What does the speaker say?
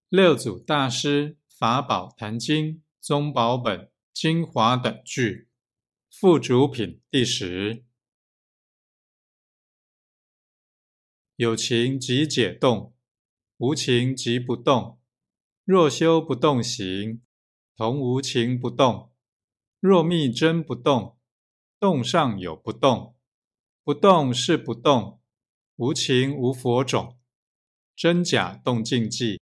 六祖大师法宝坛经宗宝本精华等句附主品第10。有情即解动，无情即不动。若修不动行，同无情不动。若密真不动，动上有不动。不动是不动，无情无佛种。真假动静寂，